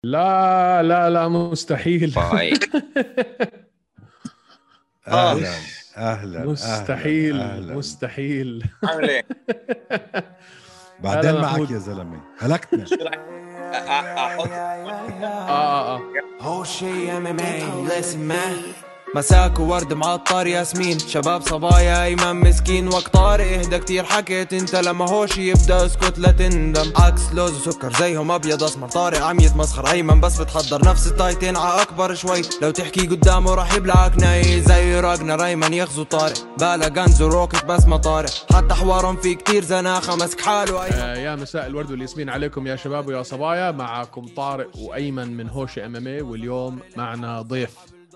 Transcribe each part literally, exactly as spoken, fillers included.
لا لا لا مستحيل. باي. اهلا اهلا مستحيل أهلاً. أهلاً. مستحيل. عامل ايه؟ بعدين هلا معك محمود. يا زلمه هلكتنا. شو رح احط اه اه whole shit M M A listen man مساك وورد معطر ياسمين شباب صبايا ايمن مسكين وقت طارق اهدى كتير حكيت انت لما هوش يبدا اسكت لا تندم عكس لوز وسكر زيهم ابيض اسمر طارق عم يتمسخر ايمن بس بتحضر نفس التايتين ع اكبر شوي لو تحكي قدامه راح يبلعك ناي زي راجنا ايمن يغزو طارق بالا غنز وروكت بس ما طارق حتى حوارهم في كتير زناخه مسك حاله أيمن. آه يا مساء الورد والياسمين عليكم يا شباب ويا صبايا. معكم طارق وايمن من هوش ام ام اي، واليوم معنا ضيف.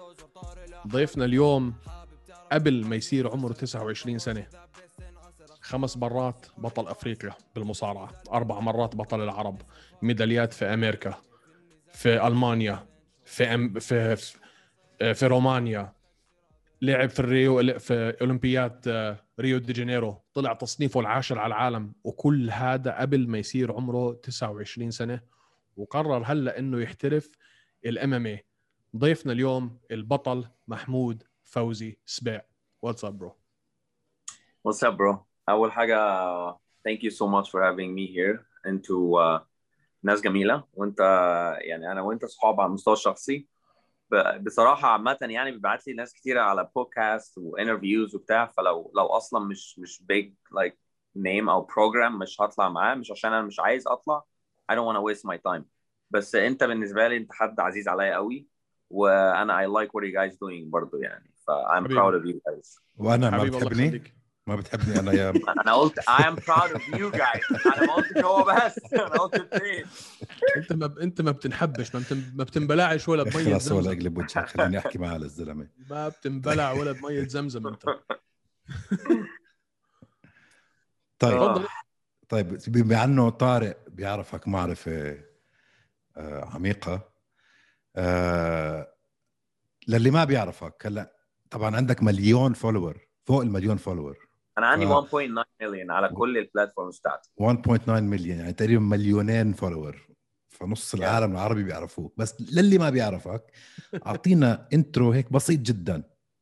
ضيفنا اليوم قبل ما يصير عمره تسعة وعشرين سنة خمس مرات بطل أفريقيا بالمصارعة، أربع مرات بطل العرب، ميداليات في أمريكا، في ألمانيا، في أم في في رومانيا، لعب في الريو في أولمبياد ريو دي جانيرو، طلع تصنيفه العاشر على العالم، وكل هذا قبل ما يصير عمره تسعة وعشرين سنة، وقرر هلا إنه يحترف الام ام اي. ضيفنا اليوم البطل محمود فوزي سبيع. What's up bro? What's up bro? أول حاجة thank you so much for having me here انتوا uh, ناس جميلة، وانت يعني أنا وانت صحاب على المستوى الشخصي. ب- بصراحة عامة يعني بيبعت لي ناس كتيرة على بودكاست وانترفيوز وبتاع، فلو لو أصلا مش مش big like name أو program مش هطلع معاه، مش عشان أنا مش عايز أطلع. I don't want to waste my time. بس أنت بالنسبة لي أنت حد عزيز عليا قوي، وأنا I like what you guys doing برضو يعني، ف I'm حبيبي. proud of you guys. وانا ما حبيبي الله بتحبني يخليك. ما بتحبني انا يا أنا قلت I am proud of you guys. أنا ما قلتش هو بس، أنا قلت اثنين. انت ما ب... انت ما بتنحبش، ما, بتن... ما بتنبلعش ولا بميه خلاص ولا زمزم. اقلب وجهك خليني احكي معاه للزلمه. ما بتنبلع ولا بميه زمزم انت. طيب تفضل. طيب بما انه طارق بيعرفك معرفه آه عميقه، آه للي ما بيعرفك هلا طبعا عندك مليون فولور، فوق المليون فولور. أنا عندي ف- واحد فاصلة تسعة مليون على كل البلاتفورمز بتاعتي. واحد فاصلة تسعة مليون يعني تقريبا مليونين فولور، فنص العالم العربي بيعرفوك. بس للي ما بيعرفك اعطينا انترو هيك بسيط جدا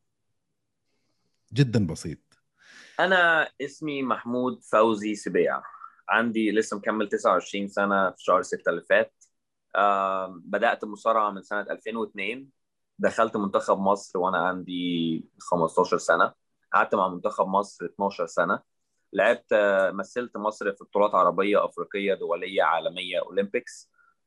جدا بسيط. أنا اسمي محمود فوزي سبيع، عندي لسه مكمل تسعة وعشرين سنة في شهر ستة اللي فات. آم، بدأت مصارعة من سنة ألفين واثنين، دخلت منتخب مصر وأنا عندي خمستاشر سنة، قعدت مع منتخب مصر اتناشر سنة، لعبت آه، مثلت مصر في بطولات عربية أفريقية دولية عالمية أولمبيكس.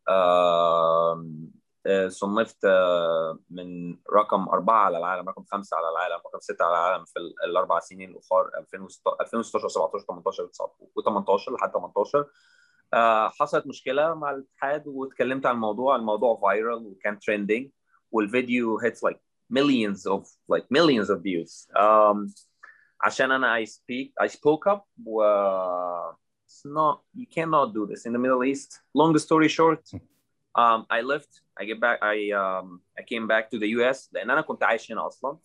آم، آه، صنفت آه، من رقم أربعة على العالم، رقم خمسة على العالم، رقم ستة على العالم في ال- الأربع سنين الأخر ألفين وستاشر سبعتاشر تمنتاشر و18 لحد تمنتاشر. آه، حصلت مشكلة مع الاتحاد واتكلمت عن الموضوع، الموضوع فايرال وكان تريندينج، والفيديو hits like millions of like millions of views. Um, عشان أنا I speak I spoke up و it's not you cannot do this in the Middle East. Long story short, um, I left I get back I um, I came back to the U S لأن أنا كنت عايش هنا أصلا.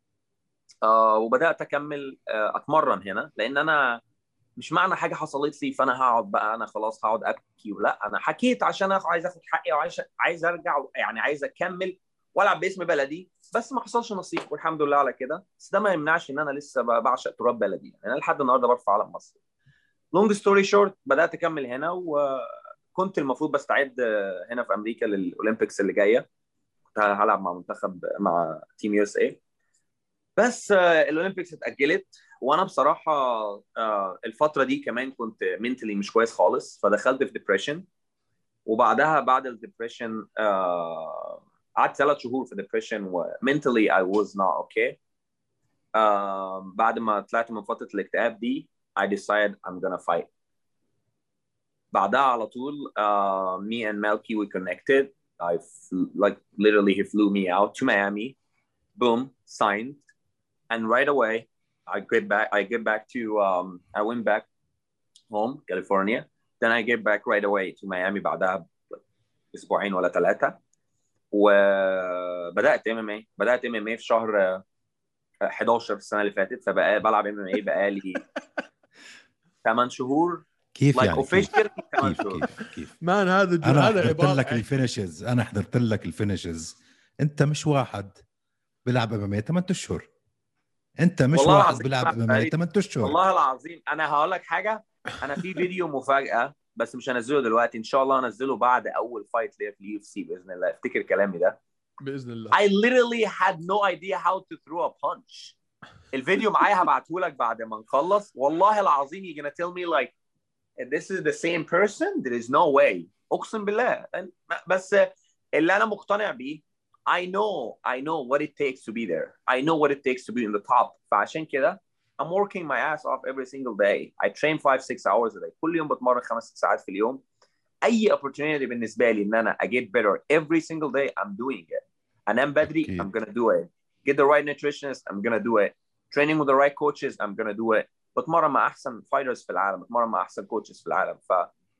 آه، وبدأت أكمل آه، أتمرن هنا، لأن أنا مش معنى حاجه حصلت لي فانا هقعد بقى انا خلاص هقعد ابكي، ولا انا حكيت عشان انا عايز اخد حقي وعايز عايز ارجع يعني عايز اكمل والعب باسم بلدي، بس ما حصلش نصيب والحمد لله على كده. بس ده ما يمنعش ان انا لسه بعشق تراب بلدي، يعني انا لحد النهارده برفع علم مصر. لونج ستوري شورت، بدات اكمل هنا وكنت المفروض بستعد هنا في امريكا للاولمبيكس اللي جايه، كنت هلعب مع منتخب مع تيم يو اس اي، بس الاولمبيكس اتاجلت. وانا بصراحه الفتره دي كمان كنت منتلي مش كويس خالص، فدخلت في ديبريشن، وبعدها بعد الديبريشن قعدت ثلاث شهور في ديبريشن ومنتلي I was not okay. بعد ما طلعت من فتره الاكتئاب دي I decided I'm gonna fight. بعدها على طول uh, me and Melky we connected. I flew, like literally he flew me out to Miami, boom, signed. And right away, I get back. I get back to. Um, I went back home, California. Then I get back right away to Miami بعدها أسبوعين ولا ثلاثة. وبدأت إم إم إيه. بدأت إم إم إيه في شهر حداشر السنة اللي فاتت، فبقى بلعب إم إم إيه بقالي ثمان شهور. كيف like يعني official كيف كيف كيف مان هذا جو... انا هذا حضرت عبارة لك الفينيشز انا حضرت لك الفينيشز انت مش واحد بيلعب امامي ثمانية اشهر انت مش والله واحد العظيم بيلعب ما امامي فريق. ثمانية اشهر والله العظيم انا هقول لك حاجه، انا في فيديو مفاجاه بس مش هنزله دلوقتي، ان شاء الله هنزله بعد اول فايت ليا في اليو اف سي باذن الله. افتكر كلامي ده. باذن الله. I literally had no idea how to throw a punch. الفيديو معايا هبعته لك بعد ما نخلص. والله العظيم you're gonna tell me like this is the same person. There is no way. اقسم بالله. بس اللي انا مقتنع بيه I know I know what it takes to be there. I know what it takes to be in the top. فعشان كده I'm working my ass off every single day. I train five six hours a day. كل يوم بتمرن خمس ست ساعات في اليوم. اي opportunity بالنسبه لي ان انا I get better every single day I'm doing it. انام بدري أكيد. I'm gonna do it. Get the right nutritionist I'm gonna do it. Training with the right coaches I'm gonna do it. بتمرن مع احسن fighters في العالم، بتمرن مع احسن coaches في العالم. ف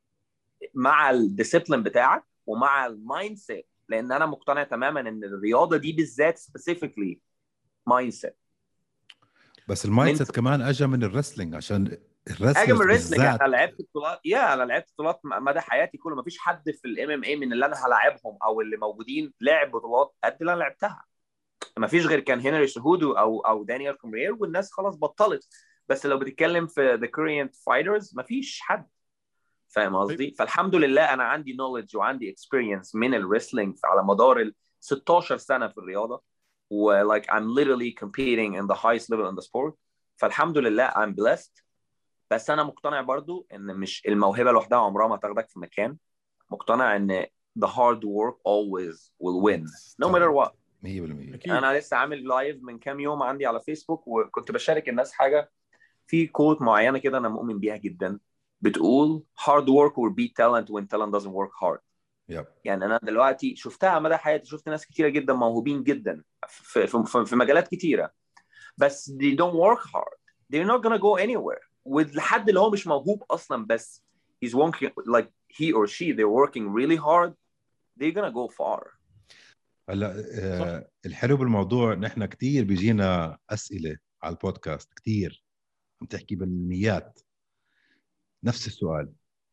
مع الديسيبلين بتاعك ومع المايند سيت، لان انا مقتنع تماما ان الرياضه دي بالذات specifically مايند سيت. بس المايند سيت كمان اجى من الرسلينج، عشان اجى من الرسلرز الريسلينج. بالذات انا لعبت بطولات، يا انا لعبت بطولات مدى حياتي كله. ما فيش حد في الام ام اي من اللي انا هلاعبهم او اللي موجودين لعب بطولات قد اللي انا لعبتها. ما فيش غير كان هنري سهودو او او دانيال كومرير، والناس خلاص بطلت. بس لو بتتكلم في ذا كوريان فايترز ما فيش حد. فاهم قصدي؟ فالحمد لله انا عندي نوليدج وعندي اكسبيرينس من الريسلينج على مدار ال ستاشر سنه في الرياضه، و like I'm literally competing in the highest level in the sport. فالحمد لله I'm blessed. بس انا مقتنع برضو ان مش الموهبه لوحدها عمرها ما تاخدك في مكان. مقتنع ان the hard work always will win no matter what. مية بالمية. انا لسه عامل لايف من كام يوم عندي على فيسبوك، وكنت بشارك الناس حاجه في كوت معينه كده انا مؤمن بيها جدا، بتقول hard work will beat talent when talent doesn't work hard. yep. يعني انا دلوقتي شفتها مدى حياتي، شفت ناس كتيره جدا موهوبين جدا في في, في مجالات كتيره، بس they don't work hard. They're not gonna go anywhere. والحد اللي هو مش موهوب اصلا بس he's working like he or she they're working really hard, they're gonna go far. هلا آه الحلو بالموضوع نحن كتير بيجينا اسئله على البودكاست، كتير عم تحكي بالميات نفس السؤال.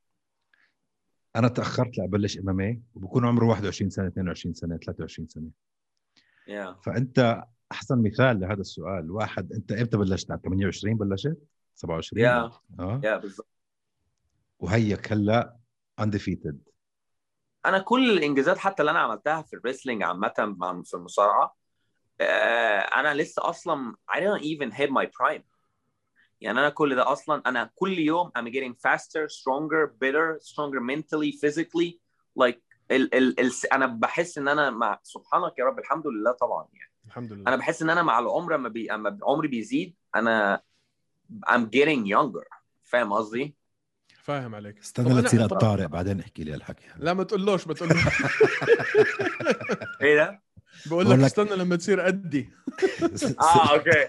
انا تاخرت لابلش ام ام اي وبكون عمره واحد وعشرين سنه اثنين وعشرين سنه ثلاثة وعشرين سنه. yeah. فانت احسن مثال لهذا السؤال. واحد انت امتى بلشت؟ على ثمانية وعشرين بلشت؟ سبعة وعشرين؟ yeah. اه yeah, بالضبط. وهيك هلا undefeated. انا كل الانجازات حتى اللي انا عملتها في الريسلينج عامه في المصارعه، انا لسه اصلا I don't even hit my prime. يعني انا كل ده اصلا انا كل يوم I'm getting faster, stronger, better, stronger mentally, physically. like ال ال ال انا بحس ان انا مع سبحانك يا رب الحمد لله طبعا يعني الحمد لله. انا بحس ان انا مع العمر اما بي اما عمري بيزيد انا I'm getting younger. فاهم قصدي؟ فاهم عليك. استنى لتصير الطارق بعدين احكي لي الحكي. لا ما تقولوش ما تقولوش. ايه ده؟ بقول لك استنى لما تصير قدي. اه اوكي.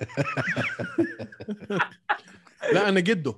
لا انا جده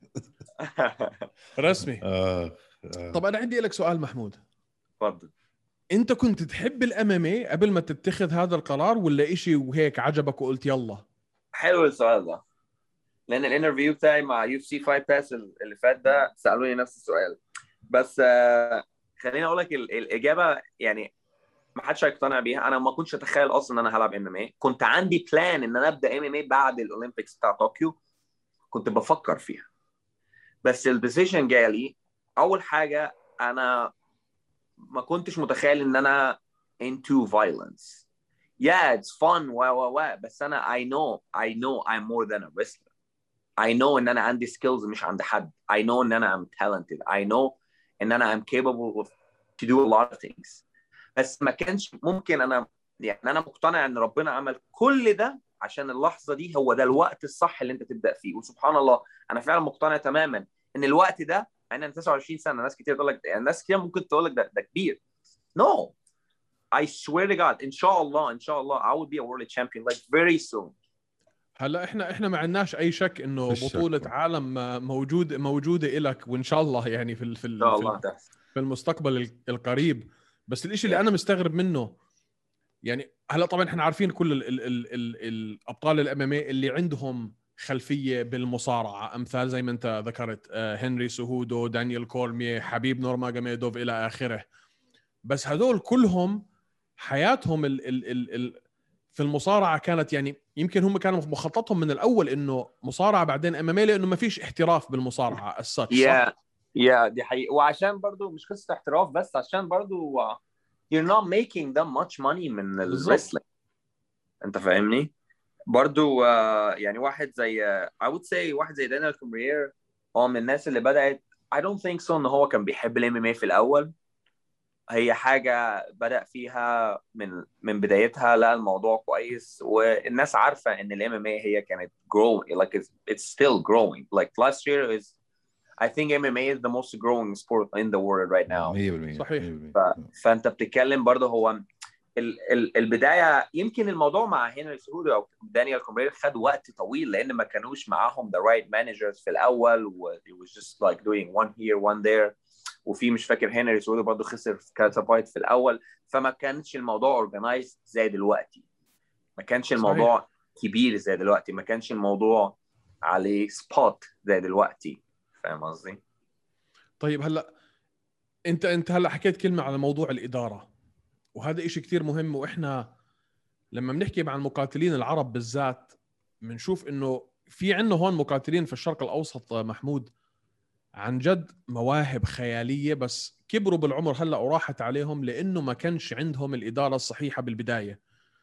رسمي. آه. آه. طب انا عندي لك سؤال محمود. تفضل. انت كنت تحب الام ام اي قبل ما تتخذ هذا القرار، ولا إشي وهيك عجبك وقلت يلا؟ حلو السؤال ده، لان الانترفيو بتاعي مع يو اف سي فايت باس اللي فات ده سالوني نفس السؤال. بس آه خليني اقول لك الاجابه يعني ما حدش هيقتنع بيها. انا ما كنتش اتخيل اصلا ان انا هلعب ام ام اي. كنت عندي بلان ان انا ابدا ام ام اي بعد الاولمبيكس بتاع طوكيو، كنت بفكر فيها. بس الديسيجن جالي. اول حاجه انا ما كنتش متخيل ان انا into violence. yeah it's fun و و و بس انا I know I know I'm more than a wrestler. I know ان انا عندي skills مش عند حد. I know ان انا I'm talented. I know ان انا I'm capable of to do a lot of things. بس ما كانش ممكن. انا يعني انا مقتنع ان ربنا عمل كل ده عشان اللحظه دي هو ده الوقت الصح اللي انت تبدا فيه. وسبحان الله انا فعلا مقتنع تماما ان الوقت ده، انا تسعة وعشرين سنه. ناس كتير تقول لك يعني ناس كتير ممكن تقول لك ده ده كبير. no I swear to God ان شاء الله ان شاء الله I will be a world champion like very soon. هلا احنا احنا ما عندناش اي شك انه بطوله شك. عالم موجود موجوده لك، وان شاء الله يعني في في, في, في المستقبل القريب. بس الاشي اللي انا مستغرب منه يعني هلا طبعا احنا عارفين كل ال ال ال ال الابطال الامامي اللي عندهم خلفيه بالمصارعه، امثال زي ما انت ذكرت هنري سهودو، دانيال كورميه، حبيب نورماجوميدوف الى اخره. بس هذول كلهم حياتهم ال ال ال ال في المصارعه كانت يعني يمكن هم كانوا مخططهم من الاول انه مصارعه بعدين ام ام اي، لانه ما فيش احتراف بالمصارعه الساتش. يا يا دي حقيقة. وعشان برضو مش قصة احتراف بس، عشان برضو uh, you're not making that much money من الرسلينج. انت فاهمني؟ برضو uh, يعني واحد زي uh, I would say واحد زي دانيال كومريير هو من الناس اللي بدأت I don't think so ان هو كان بيحب الام ام اي في الاول. هي حاجة بدأ فيها من من بدايتها، لا الموضوع كويس والناس عارفة ان الام ام اي هي كانت growing like it's, it's still growing like last year is I think M M A is the most growing sport in the world right now. مية بالمية صحيح. مية بالمية. ف... فانت بتتكلم برضه هو ال... ال... البدايه يمكن الموضوع مع هنري سهودو او دانيال كومرير خد وقت طويل لان ما كانوش معاهم the right managers في الاول و it was just like doing one here one there. وفي مش فاكر هنري سهودو برضه خسر في كاتا فايت في الاول، فما كانش الموضوع organized زي دلوقتي، ما كانش الموضوع صحيح. كبير زي دلوقتي، ما كانش الموضوع عليه سبوت زي دلوقتي. فاهم قصدي؟ طيب هلا انت انت هلا حكيت كلمه على موضوع الاداره، وهذا إشي كتير مهم. واحنا لما بنحكي مع المقاتلين العرب بالذات بنشوف انه في عندنا هون مقاتلين في الشرق الاوسط محمود عن جد مواهب خياليه، بس كبروا بالعمر هلا وراحت عليهم لانه ما كانش عندهم الاداره الصحيحه بالبدايه.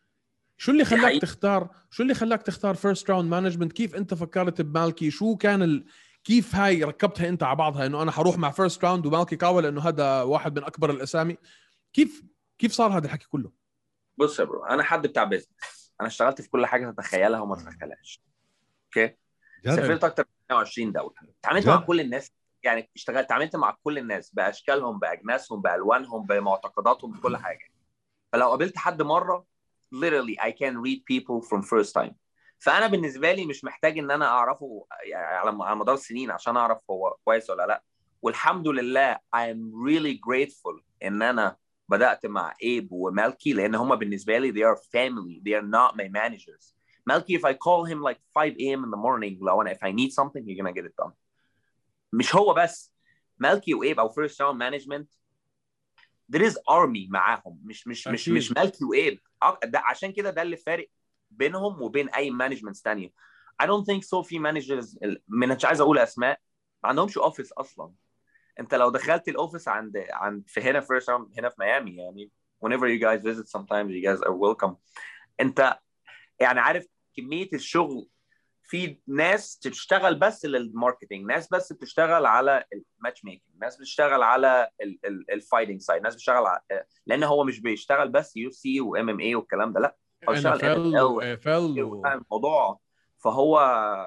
شو اللي خلاك تختار شو اللي خلاك تختار فيرست راوند مانجمنت؟ كيف انت فكرت بمالكي؟ شو كان ال... كيف هاي ركبتها انت على بعضها انه انا حروح مع فيرست راوند ومالكي كاوا لانه هذا واحد من اكبر الاسامي؟ كيف كيف صار هذا الحكي كله؟ بص يا برو، انا حد بتاع بيزنس، انا اشتغلت في كل حاجه تتخيلها وما تتخيلهاش. اوكي، سافرت اكتر من مية وعشرين دوله، تعاملت مع كل الناس، يعني اشتغلت تعاملت مع كل الناس باشكالهم باجناسهم بالوانهم بمعتقداتهم بكل حاجه. فلو قابلت حد مره literally I can read people from first time. فانا بالنسبه لي مش محتاج ان انا اعرفه يعني على مدار سنين عشان اعرف هو كويس ولا لا. والحمد لله I am really grateful ان انا بدات مع ايب ومالكي لان هم بالنسبه لي they are family, they are not my managers. Malky, if I call him like five a m in the morning لو انا if I need something he's gonna get it done. مش هو بس، مالكي وايب او first round management there is army معاهم، مش مش أكيد. مش مش مالكي وايب. ده عشان كده ده اللي فارق بينهم وبين اي مانجمنتس ثانيه. I don't think so في مانجرز من مش عايز اقول اسماء ما عندهمش اوفيس اصلا. انت لو دخلت الاوفيس عند عند في هنا فيرست راوند هنا في ميامي يعني whenever you guys visit sometimes you guys are welcome. انت يعني عارف كميه الشغل، في ناس تشتغل بس للماركتينج، ناس بس بتشتغل على الماتش ميكنج، ناس بتشتغل على الفايتنج سايد، ناس بتشتغل على... لان هو مش بيشتغل بس يو سي وام ام اي والكلام ده، لا هو بيشتغل اف ال الموضوع. فهو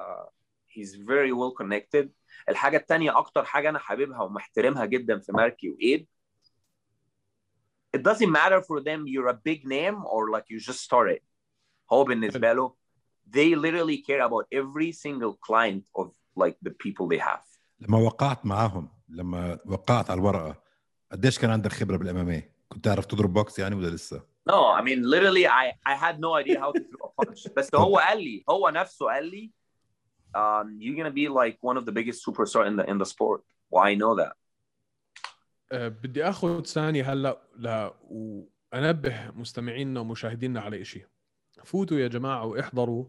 he's very well connected. الحاجه الثانيه اكتر حاجه انا حاببها ومحترمها جدا في ماركي وايب it doesn't matter for them you're a big name or like you just started. هو بالنسبه له they literally care about every single client of like the people they have. لما وقعت معاهم، لما وقعت على الورقة، قديش كان عندك خبرة بالام ام اي؟ كنت تعرف تضرب بوكس يعني ولا لسه؟ No, I mean literally I I had no idea how to throw a punch. بس هو قال لي، هو نفسه قال لي um, you're gonna be like one of the biggest superstar in the in the sport. Well, I know that. uh, بدي اخذ ثانية هلا لا وانبه مستمعينا ومشاهدينا على إشي. فوتوا يا جماعة واحضروا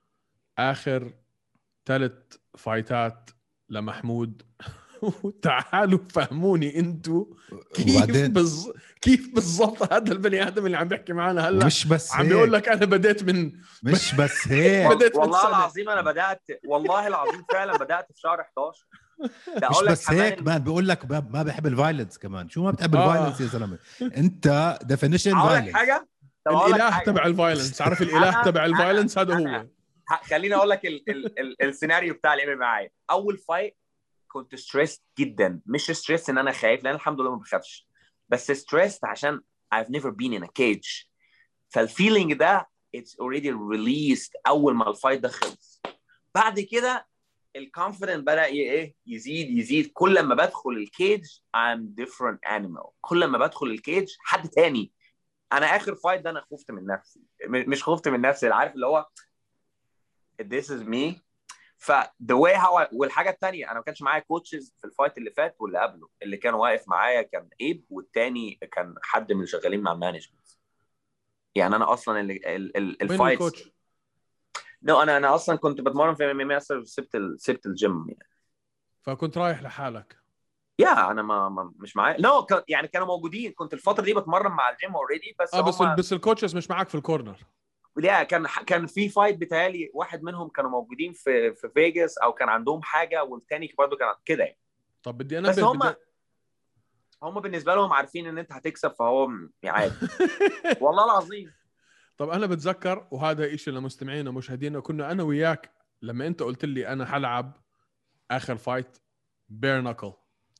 آخر ثلاث فايتات لمحمود وتعالوا فهموني انتوا كيف بز... كيف بالضبط هذا البني آدم اللي عم بيحكي معنا هلا مش بس عم بيقول لك أنا بديت من مش بس هيك بديت والله العظيم أنا بدأت والله العظيم فعلا بدأت في شهر حداشر. مش بس هيك مان، بيقول لك ما بحب الفايلنس كمان. شو ما بتحب آه. الفايلنس يا زلمة؟ انت ديفينيشن فايلنس حاجة الاله تبع الفايلنس. عارف الاله تبع الفايلنس هذا هو. خليني اقول لك ال ال ال السيناريو بتاع الام معايا. اول فايت كنت ستريس جدا، مش ستريس ان انا خايف لان الحمد لله ما بخافش، بس ستريس عشان I've never been in a cage. فالفيلينج ده it's already released اول ما الفايت ده خلص. بعد كده الكونفيدنت بدا ايه يزيد يزيد. كل ما بدخل الكيج I'm different animal. كل ما بدخل الكيج حد تاني. انا اخر فايت ده انا خفت من نفسي، مش خفت من نفسي، عارف اللي هو this is me. ف the way how I... والحاجه الثانيه انا ما كانش معايا كوتشز في الفايت اللي فات واللي قبله. اللي كان واقف معايا كان ايب، والتاني كان حد من اللي شغالين مع المانجمنت. يعني انا اصلا اللي ال... ال... الفايت الكوتش نو no, انا انا اصلا كنت بتمرن في ام ام اي، سبت ال... سبت الجيم يعني. فكنت رايح لحالك؟ يا انا ما, ما مش معايا نو no, يعني كانوا موجودين. كنت الفتره دي بتمرن مع الجيم اوريدي بس اه بس هم... بس الكوتشز مش معاك في الكورنر؟ لا كان كان في فايت بتهيألي واحد منهم كانوا موجودين في في فيجاس او كان عندهم حاجه، والتاني برضه كان كده يعني. طب بدي انا بس هم بدي... هم بالنسبه لهم عارفين ان انت هتكسب، فهو عادي. والله العظيم. طب انا بتذكر، وهذا إشي لمستمعينا ومشاهدينا، كنا انا وياك لما انت قلت لي انا حلعب اخر فايت بير ناكل،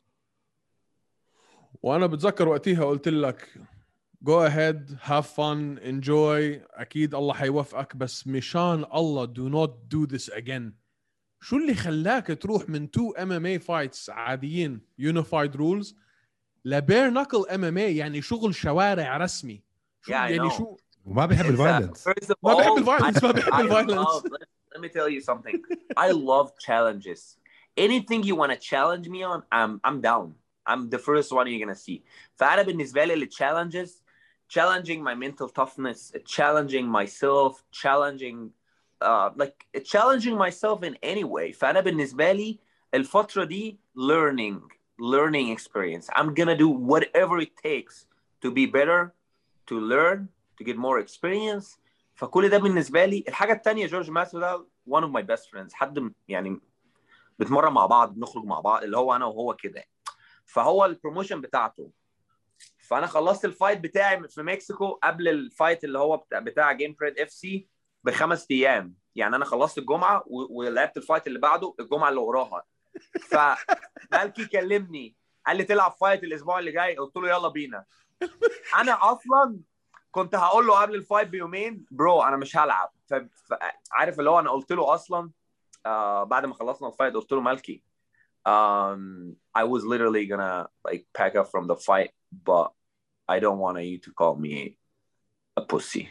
وانا بتذكر وقتها قلت لك go ahead have fun enjoy، اكيد الله حيوفقك، بس مشان الله do not do this again. شو اللي خلاك تروح من تو ام ام اي فايتس عاديين unified rules لبير ناكل ام ام اي؟ يعني شغل شوارع رسمي. شو Yeah, I يعني know. شو وما بيحب الفايلنس. ما بيحب الفايلنس ما بيحب الفايلنس. Let me tell you something. I love challenges. Anything you want to challenge me on, I'm I'm down. I'm the first one you're gonna see. فأنا بالنسبة لي challenges, challenging my mental toughness, challenging myself, challenging uh, like challenging myself in any way. فأنا بالنسبة لي الفترة دي learning, learning experience. I'm gonna do whatever it takes to be better, to learn, to get more experience. فكل ده بالنسبة لي. الحاجة التانية جورج ماسودال one of my best friends، حد يعني بتمرن مع بعض، بنخرج مع بعض، اللي هو أنا وهو كده. فهو البروموشن بتاعته. فأنا خلصت الفايت بتاعي في مكسيكو قبل الفايت اللي هو بتاع, بتاع جيم بريد اف سي بخمس أيام. يعني أنا خلصت الجمعة ولعبت الفايت اللي بعده الجمعة اللي وراها. فمالكي كلمني قال لي تلعب فايت الأسبوع اللي جاي، قلت له يلا بينا. أنا أصلاً كنت هقول له قبل الفايت بيومين برو انا مش هلعب. فعارف اللي هو انا قلت له اصلا uh, بعد ما خلصنا الفايت قلت له مالكي um, I was literally gonna like pack up from the fight but I don't want you to call me a pussy.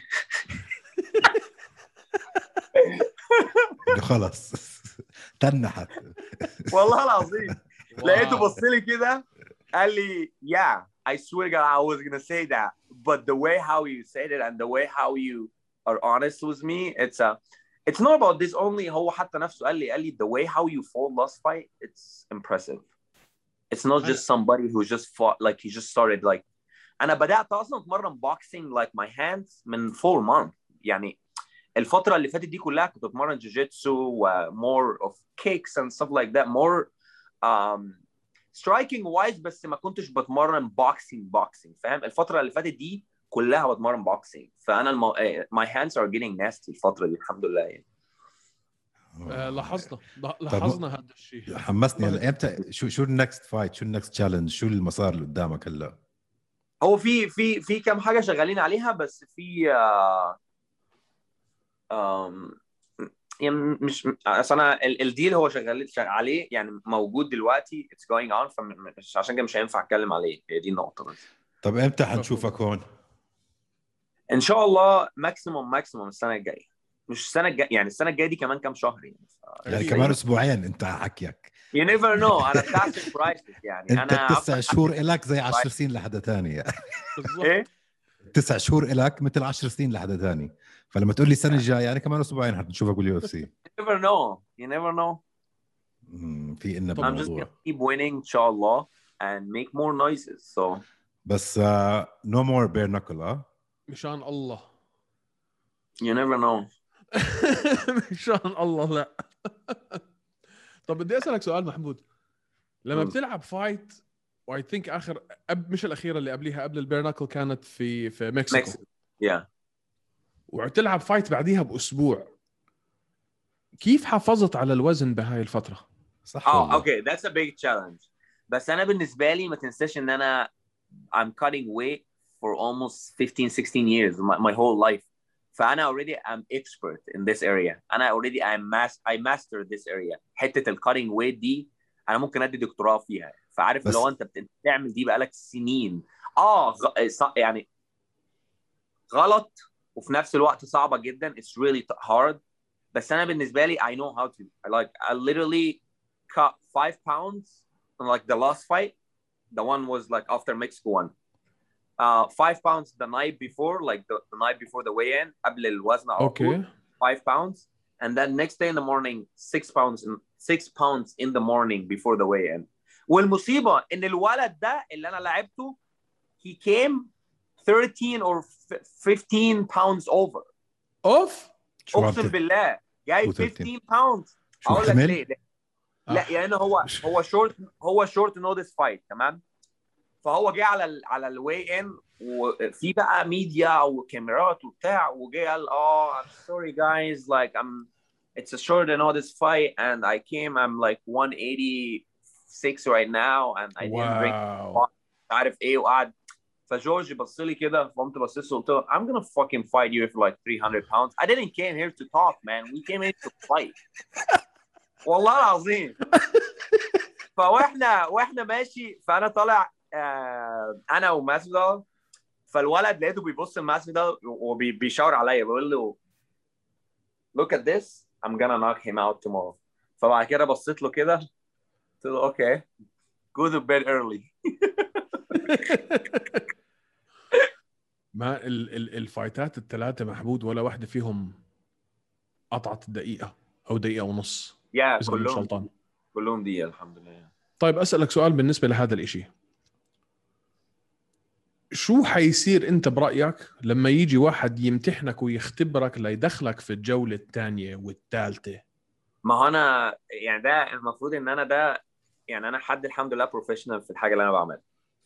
خلاص تنحت والله العظيم. لقيته بص لي كده قال لي yeah I swear to God I was gonna say that but the way how you said it and the way how you are honest with me it's a it's not about this only. هو حتى نفسه قال لي قال لي the way how you fought last fight it's impressive. It's not just somebody who just fought like he just started like. أنا بدأت أصلا أتمرن boxing like my hands من four months. يعني الفترة اللي فاتت دي كلها كنت أتمرن جوجيتسو و more of kicks and stuff like that more um, striking wise بس ما كنتش بتمرن boxing boxing فاهم. الفترة اللي فاتت دي كلها بتمرن boxing. فأنا المو... my hands are getting nasty الفترة دي الحمد لله يعني. آه لاحظنا لاحظنا هذا الشيء. حمسني هلا. امتى شو شو النكست فايت؟ شو النكست تشالنج؟ شو المسار اللي قدامك هلا؟ هو في في في كم حاجة شغالين عليها بس في uh, um, يعني مش اصل انا الديل هو شغال عليه يعني موجود دلوقتي it's going on فمش عشان كده مش هينفع اتكلم عليه. هي دي النقطه بس. طب امتى حنشوفك هون؟ ان شاء الله ماكسيموم ماكسيموم السنه الجايه. مش السنه الجايه يعني السنه الجايه دي كمان كام شهر يعني. يعني كمان اسبوعين انت حكيك. You never know. انا بتاع سربرايزز يعني. انت انا تسع شهور الك زي عشر سنين لحدا ثاني. ايه تسع شهور الك مثل عشر سنين لحدا ثاني. فلما تقول لي السنه الجايه يعني كمان اسبوعين حنشوفك باليو اف سي. You never know. You never know. امم في إلنا I'm just gonna keep winning إن شاء الله and make more noises. So بس uh, no more bare knuckle اه مشان الله. You never know. مشان الله لا. طب بدي أسألك سؤال محمود. لما بتلعب فايت واي ثينك آخر أب مش الأخيرة اللي قبليها قبل البير ناكل كانت في في مكسيكو. Yeah. وتلعب فايت بعديها بأسبوع. كيف حافظت على الوزن بهاي الفترة؟ صح. اه اوكي that's a big challenge. بس أنا بالنسبة لي ما تنساش إن أنا I'm cutting weight for almost fifteen sixteen years my, my whole life. فأنا already I'm expert in this area. أنا already I'm mas I mastered this area. حتة ال cutting weight دي أنا ممكن أدي دكتوراه فيها. فعارف لو أنت بتعمل دي بقالك سنين آه غ... يعني غلط وفي نفس الوقت صعبة جدا. It's really hard بس انا بالنسبه لي I know how to I like I literally cut five pounds in like the last fight. The one was like after Mexico one. Uh, five pounds the night before, like the, the night before the weigh-in. قبل الوزن على طول. Okay. Five pounds, and then next day in the morning six pounds in six pounds in the morning before the weigh-in. والمصيبة إن الولد ده اللي أنا لعبته he came thirteen or fifteen pounds over. اوف أقسم بالله جاي fifteen pounds. أقول لك ليه؟ لا يعني هو هو شورت هو شورت نودس فايت تمام. فهو جه على ال على الواي ان وفي بقى ميديا وكاميرات وبتاع وجه قال اه I'm sorry guys like I'm it's a short notice fight and I came I'm like one eighty-six right now and I didn't drink عارف ايه وقعد. فجورج بص لي كده فقمت بصيت له قلت له I'm gonna fucking fight you for like three hundred pounds. I didn't came here to talk man, we came here to fight. والله العظيم. فواحنا واحنا ماشي فانا طالع آه انا وماسفيدال. فالولد لقيته بيبص لماسفيدال وبيشاور عليا بيقول له look at this I'm gonna knock him out tomorrow. فبعد كده بصيت له كده قلت له اوكي go to bed early. ما ال ال الفايتات الثلاثه محمود ولا واحده فيهم قطعت الدقيقه او دقيقه ونص. يا yeah, كلهم كلهم دقيقه الحمد لله. طيب اسالك سؤال بالنسبه لهذا الاشي، شو حيصير انت برايك لما يجي واحد يمتحنك ويختبرك ليدخلك في الجوله الثانيه والثالثه؟ ما هو انا يعني ده المفروض ان انا ده يعني انا حد الحمد لله بروفيشنال في الحاجه اللي انا بعملها.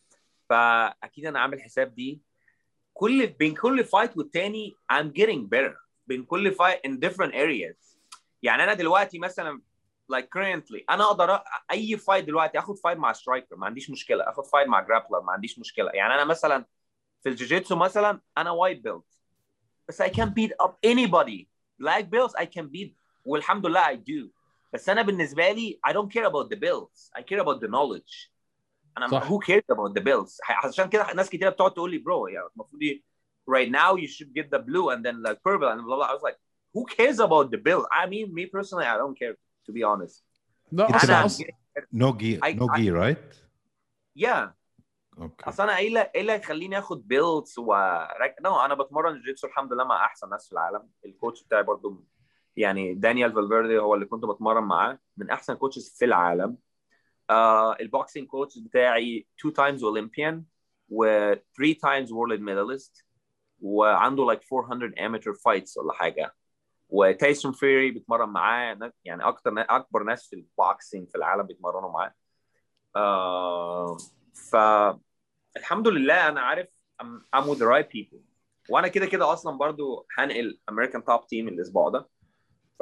فاكيد انا عامل حساب دي كل بين كل فايت والتاني I'm getting better بين كل فايت in different areas. يعني انا دلوقتي مثلا like currently انا اقدر اي فايت دلوقتي اخد فايت مع سترايكر ما عنديش مشكله، اخد فايت مع جرابلر ما عنديش مشكله. يعني انا مثلا في الجوجيتسو مثلا انا وايت بيلت بس I can beat up anybody. black belts I can beat والحمد لله I do. بس انا بالنسبه لي I don't care about the belts, I care about the knowledge. انا صح. who cares about the belts. عشان كده ناس كتير بتقعد تقول لي برو يعني المفروض right now you should get the blue and then like purple and blah blah. I was like who cares about the belt. I mean me personally I don't care to be honest. No, أنا no gear I, no gear right? Yeah. Okay. اصل انا ايه اللي ايه اللي يخليني اخد بيلتس و no, انا بتمرن جيتسو الحمد لله مع احسن ناس في العالم. الكوتش بتاعي برضو يعني دانيال فالفيردي هو اللي كنت بتمرن معاه من احسن كوتشز في العالم. uh, البوكسينج كوتش بتاعي two times Olympian و three times world medalist وعنده like four hundred amateur fights ولا حاجه. وتايسون فيري بيتمرن معاه يعني اكتر اكبر ناس في البوكسينج في العالم بيتمرنوا معاه. uh, فالحمد لله انا عارف I'm, I'm with the right people. وانا كده كده اصلا برضو هنقل American Top Team الاسبوع ده. ف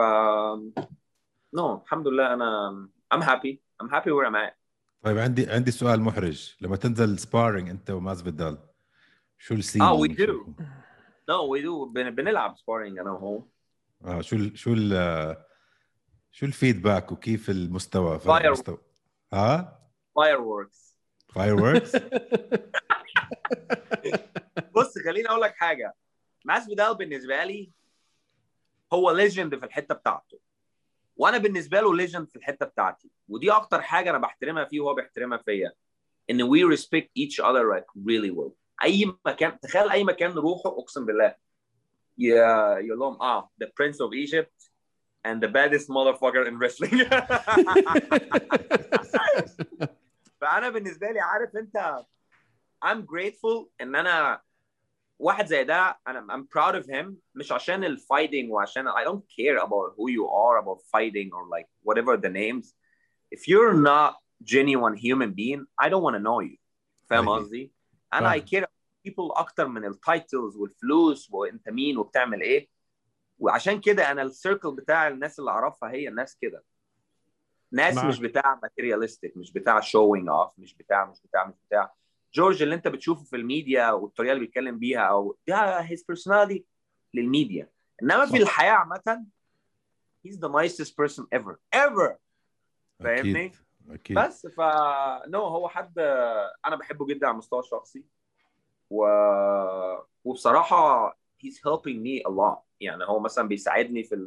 no الحمد لله انا I'm happy I'm happy where I'm at. طيب عندي عندي سؤال محرج. لما تنزل سبارينج انت وماسفيدال شو السين؟ اه we do no we do بن, بنلعب سبارينج انا وهو. اه شو ال شو ال شو الفيدباك وكيف المستوى فرق Fire... المستوى ها fireworks fireworks. بص خليني اقول لك حاجه. ماسفيدال بالنسبه لي هو ليجند في الحته بتاعته وانا بالنسبه له ليجند في الحته بتاعتي. ودي اكتر حاجه انا بحترمها فيه وهو بيحترمها فيا ان we respect each other like really well. اي مكان تخيل اي مكان نروحه اقسم بالله يا يقول لهم اه the prince of Egypt and the baddest motherfucker in wrestling. فانا بالنسبه لي عارف انت I'm grateful ان انا واحد زي ده. انا I'm proud of him مش عشان الفايتنج وعشان I don't care about who you are about fighting or like whatever the names. If you're not genuine human being I don't want to know you. فاهم قصدي؟ انا I care people اكتر من التايتلز والفلوس وانت مين وبتعمل ايه. وعشان كده انا السيركل بتاع الناس اللي اعرفها هي الناس كده ناس معك. مش بتاع ماتيرياليستيك مش بتاع شوينج اوف مش بتاع مش بتاع مش بتاع جورج اللي انت بتشوفه في الميديا والطريقه اللي بيتكلم بيها او ده his personality للميديا. انما في الحياه عامه he's the nicest person ever ever. فاهمني؟ أكيد. بس ف نو هو حد انا بحبه جدا على المستوى الشخصي و... وبصراحه he's helping me a lot. يعني هو مثلا بيساعدني في ال...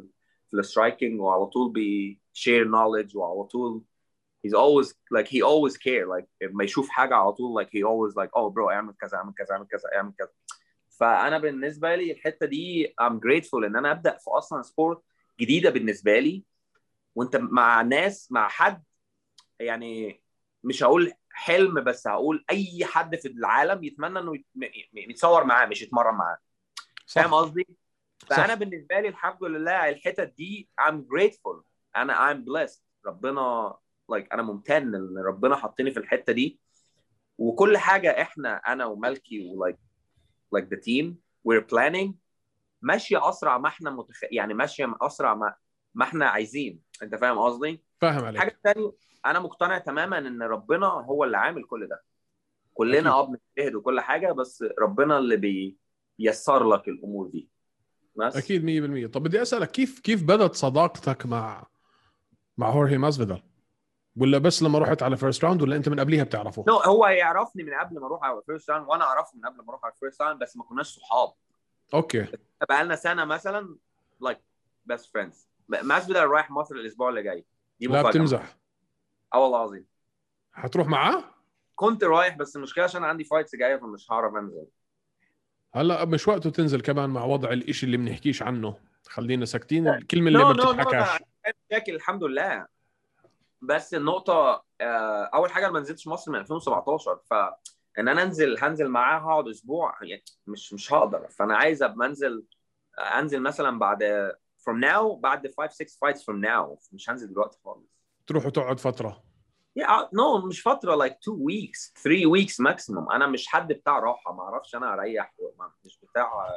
في السترايكنج وعلى طول بي share knowledge وعلى طول he's always like he always care like ما يشوف حاجه على طول like he always like oh bro اعمل كذا اعمل كذا اعمل كذا اعمل كذا. فانا بالنسبه لي الحته دي I'm grateful ان انا ابدا في اصلا سبورت جديده بالنسبه لي وانت مع ناس مع حد يعني مش هقول حلم بس هقول اي حد في العالم يتمنى انه يتصور معاه مش يتمرن معاه. فاهم قصدي؟ فانا بالنسبه لي الحمد لله الحتت دي I'm grateful انا I'm blessed ربنا like انا ممتن ان ربنا حطني في الحته دي وكل حاجه احنا انا وملكي و like like the team we're planning ماشيه اسرع ما احنا متخ... يعني ماشيه اسرع ما ما احنا عايزين. انت فاهم قصدي؟ فاهم عليك. حاجه ثانيه انا مقتنع تماما ان ربنا هو اللي عامل كل ده. كلنا اه بنجتهد وكل حاجه بس ربنا اللي بييسر لك الامور دي بس. اكيد مية بالمية. طب بدي اسالك كيف كيف بدت صداقتك مع مع هورهي ماسفيدال ولا بس لما رحت على فيرست راوند ولا انت من قبليها بتعرفه؟ no, هو يعرفني من قبل ما اروح على فيرست راوند وانا اعرفه من قبل ما اروح على فيرست راوند بس ما كناش صحاب. اوكي. بقى لنا سنه مثلا like best friends. ماسفيدال رايح مصر الاسبوع اللي جاي. دي لا بتمزح؟ اه والله العظيم. هتروح معاه؟ كنت رايح بس المشكله عشان عندي فايتس جايه فمش هعرف انزل. هلا مش وقته تنزل كمان مع وضع الاشي اللي بنحكيش عنه. خلينا ساكتين الكلمه اللي no, ما no, بتتحكاش. no, مشاكل الحمد لله. بس النقطه اول حاجه ما نزلتش مصر من ألفين وسبعتاشر فان انا انزل هنزل معاه هقعد اسبوع يعني مش مش هقدر. فانا عايز ابقى انزل انزل مثلا بعد from now بعد five six fights from now مش هنزل دلوقتي خالص. تروح وتقعد فتره؟ yeah no مش فتره like two weeks three weeks maximum. انا مش حد بتاع راحه ما اعرفش انا اريح مش بتاع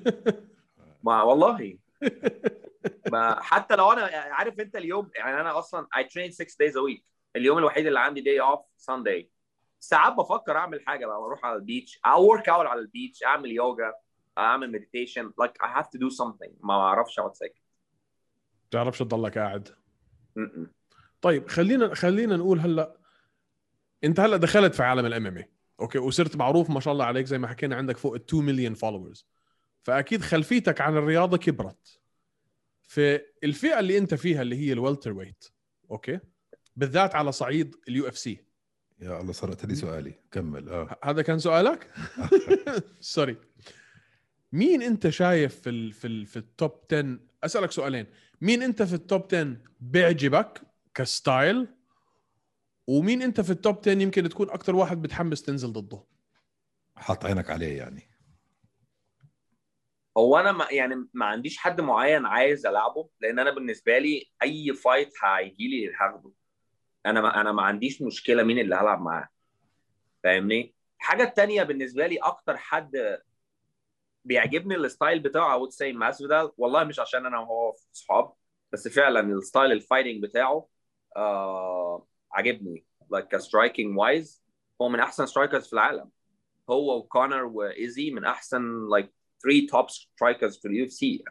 ما والله ما حتى لو انا عارف انت اليوم يعني انا اصلا I train six days a week. اليوم الوحيد اللي عندي day off Sunday. ساعات بفكر اعمل حاجه بقى اروح على البيتش او work out على البيتش اعمل يوجا اعمل meditation like I have to do something. ما اعرفش اقعد ساكت. تعرفش تضلك قاعد. م-م. طيب خلينا خلينا نقول هلا انت هلا دخلت في عالم الام ام اي اوكي وصرت معروف ما شاء الله عليك زي ما حكينا عندك فوق ال two مليون فولورز فاكيد خلفيتك عن الرياضه كبرت. في الفئه اللي انت فيها اللي هي الوالتر ويت اوكي بالذات على صعيد اليو اف سي. يا الله صارت لي سؤالي كمل. اه هذا كان سؤالك؟ سوري. مين انت شايف في ال في ال في التوب عشرة؟ اسالك سؤالين. مين انت في التوب عشرة بيعجبك كستايل ومين انت في التوب عشرة يمكن تكون اكتر واحد بتحمس تنزل ضده؟ حاط عينك عليه يعني. هو انا ما يعني ما عنديش حد معين عايز العبه لان انا بالنسبه لي اي فايت هيجي لي هاخده. انا ما انا ما عنديش مشكله مين اللي هلعب معاه. فاهمني؟ الحاجه الثانيه بالنسبه لي اكتر حد بيعجبني الستايل بتاعه I would say ماسفيدال. والله مش عشان انا وهو صحاب بس فعلا الستايل الفايتنج بتاعه آه عجبني like striking wise. هو من احسن سترايكرز في العالم. هو وكونر وايزي من احسن like three top strikers في اليو اف سي.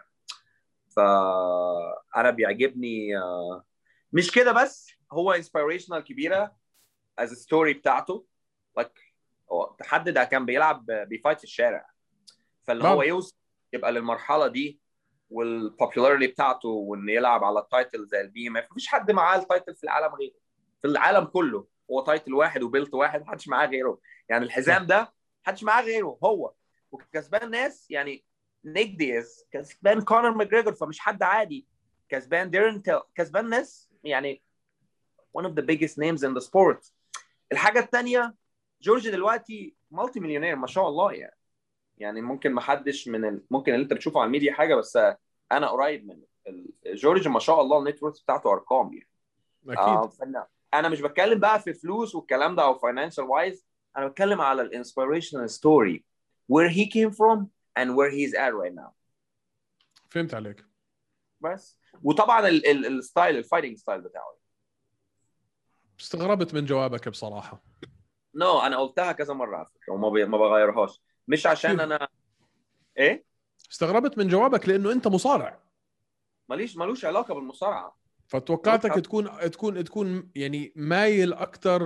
فانا بيعجبني آه مش كده بس هو inspirational كبيره as a story بتاعته like هو تحدد كان بيلعب بيفايت في الشارع فاللي هو يوصل يبقى للمرحله دي والبوبولاريتي بتاعته وان يلعب على التايتل زي البي ام اف. مفيش حد معاه التايتل في العالم غيره. في العالم كله هو تايتل واحد وبيلت واحد محدش معاه غيره. يعني الحزام ده محدش معاه غيره هو. وكسبان ناس يعني نيك دياز كسبان كونر ماجريجور فمش حد عادي. كسبان ديرن تيل كسبان ناس يعني one of the biggest names in the sport. الحاجه الثانيه جورج دلوقتي مالتي مليونير ما شاء الله يعني. يعني ممكن ما حدش من ال... ممكن اللي انت بتشوفه على الميديا حاجه بس انا قريب من جورج ما شاء الله النت وورث بتاعته ارقام يعني. اكيد. آه فن... انا مش بتكلم بقى في فلوس والكلام ده او فاينانشال وايز. انا بتكلم على الانسبيريشنال ستوري where he came from and where he's at right now. فهمت عليك. بس وطبعا الستايل الفايتنج ستايل بتاعه. استغربت من جوابك بصراحه. نو no, انا قلتها كذا مره على فكره وما بي... ما بغيرهاش مش عشان انا ايه. استغربت من جوابك لانه انت مصارع. ماليش مالوش علاقه بالمصارعه. فتوقعتك تكون تكون تكون يعني مايل اكثر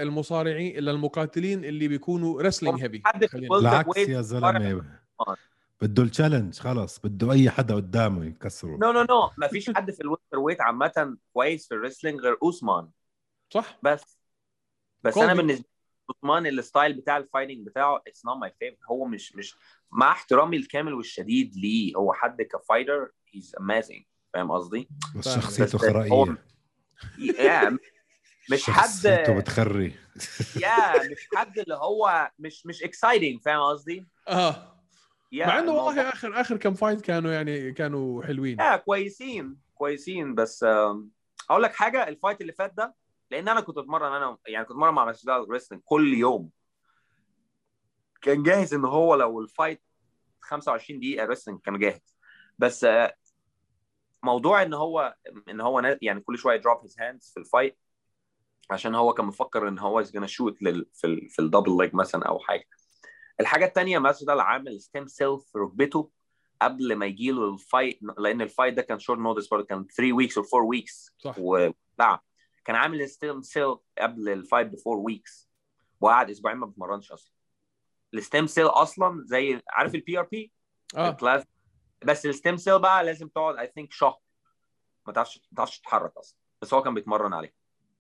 للمصارعين الى المقاتلين اللي بيكونوا رسلينج هيفي. بالعكس يا زلمه بده التشالنج خلاص، بده اي حدا قدامه يكسره. نو نو نو ما فيش حد في الويلتر ويت عامه كويس في الريسلينج غير اوسمان. صح. بس بس كوبي. انا بالنسبه لي اوسمان الستايل بتاع الفايتنج بتاعه اتس نوت ماي فيفورت. هو مش مش مع احترامي الكامل والشديد ليه، هو حد كفايتر هيز اميزنج، فاهم قصدي؟ بس فاهم. شخصيته بس هو خرائيه. يا مش حد شخصيته بتخري. يا مش حد اللي هو مش مش اكسايتنج، فاهم قصدي؟ اه مع يا انه الموضوع والله اخر اخر كم فايت كانوا يعني كانوا حلوين. يا كويسين كويسين. بس آم، اقول لك حاجه، الفايت اللي فات ده، لان انا كنت اتمرن، انا يعني كنت اتمرن مع مسجد ريسلينج كل يوم، كان جاهز ان هو لو الفايت خمسة وعشرين دقيقه ريسلينج كان جاهز. بس آه، موضوع ان هو ان هو نا- يعني كل شويه دروب هيز هاندز في الفايت، عشان هو كان مفكر ان هو از جونا شوت في ال في الدبل ليج مثلا او حاجه. الحاجه الثانيه مسجد عامل ستيم سيل في ركبته قبل ما يجي له الفايت، لان الفايت ده كان شورت نوتس برضه، كان ثلاثة ويكس او أربعة ويكس. صح. ولا كان عامل ستيم سيل قبل الفايت ب أربعة ويكس، وقعد اسبوعين ما بيتمرنش اصلا. الستيم سيل اصلا زي عارف البي ار بي اه البلازما، بس الستيم سيل بقى لازم تقعد اي ثينك شهر ما تعرفش ما تعرفش تتحرك اصلا، بس هو كان بيتمرن عليه.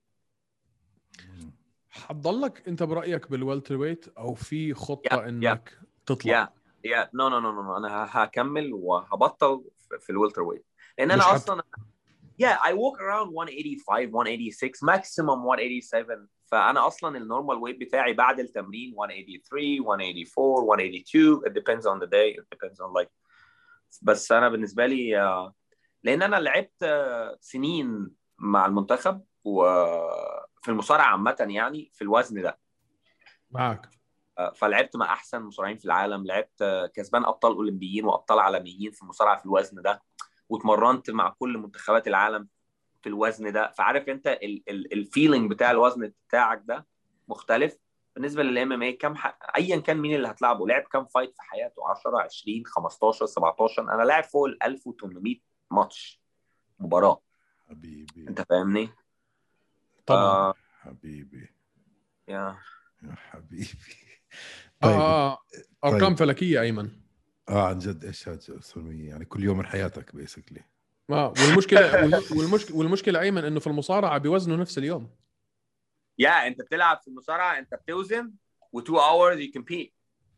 حتضلك انت برايك بالوالتر ويت او في خطه يا انك تطلع؟ يا يا نو نو نو نو انا هكمل وهبطل في الويلتر ويت، لان مش انا حت... اصلا yeah I walk around one eighty-five one eighty-six maximum one eighty-seven. فانا اصلا النورمال ويت بتاعي بعد التمرين one eighty-three one eighty-four one eighty-two it depends on the day, it depends on like. بس انا بالنسبه لي آه، لان انا لعبت آه، سنين مع المنتخب وفي المصارعه عامه يعني في الوزن ده، معك. آه، فلعبت مع احسن مصارعين في العالم، لعبت آه، كسبان ابطال اولمبيين وابطال عالميين في المصارعه في الوزن ده، واتمرنت مع كل منتخبات العالم في الوزن ده. فعارف انت الفيلينج بتاع الوزن بتاعك ده مختلف بالنسبه للام ام اي. كم ح... ايا كان مين اللي هتلعبه لعب كم فايت في حياته، عشرة عشرين خمستاشر سبعتاشر، انا لاعب فوق ال ألف وثمانمائة ماتش مباراه. حبيبي انت فاهمني؟ طبعا. آه... حبيبي يا يا حبيبي. اه طيب اه ارقام طيب فلكيه ايمن. اه عن جد ايش هاد يعني كل يوم من حياتك بيسكلي. اه والمشكله والمشكله والمشكله ايمن انه في المصارعه بيوزنوا نفس اليوم. يا انت بتلعب في المصارعه انت بتوزن و two hours you compete.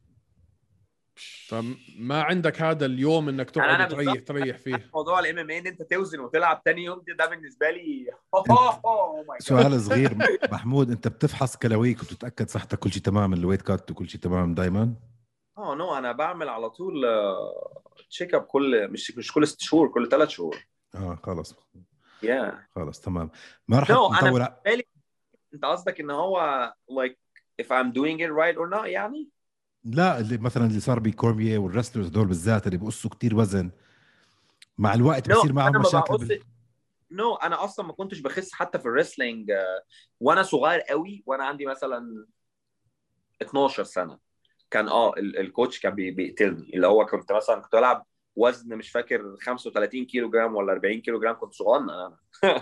فما عندك هذا اليوم انك يعني تقعد انا وتريح بالظبط تريح فيه. موضوع الام ام اي ان انت توزن وتلعب تاني يوم ده بالنسبه لي انت اوه ماي جاد. سؤال صغير محمود، انت بتفحص كلاويك وبتتاكد صحتك كل شيء تمام، الويت كات وكل شيء تمام دائما؟ اه نو انا بعمل على طول تشيك اب كل مش مش كل ست شهور، كل ثلاث شهور. اه خلص يا yeah. خلص تمام. ما راح نو no, انا نطول. بالي انت قصدك ان هو like if I'm doing it right or not يعني؟ لا اللي مثلا اللي صار بكورميه والرسلرز دول بالذات اللي بيقصوا كتير وزن مع الوقت نو no, بصير معهم انا ما مشاكل بقص بال... نو no, انا اصلا ما كنتش بخس حتى في الريسلينج uh, وانا صغير قوي، وانا عندي مثلا اتناشر سنه كان اه الكوتش كان بيقتلني، اللي هو كنت مثلا كنت بلعب وزن مش فاكر خمسة وثلاثين كيلو جرام ولا أربعين كيلو جرام، كنت صغنن انا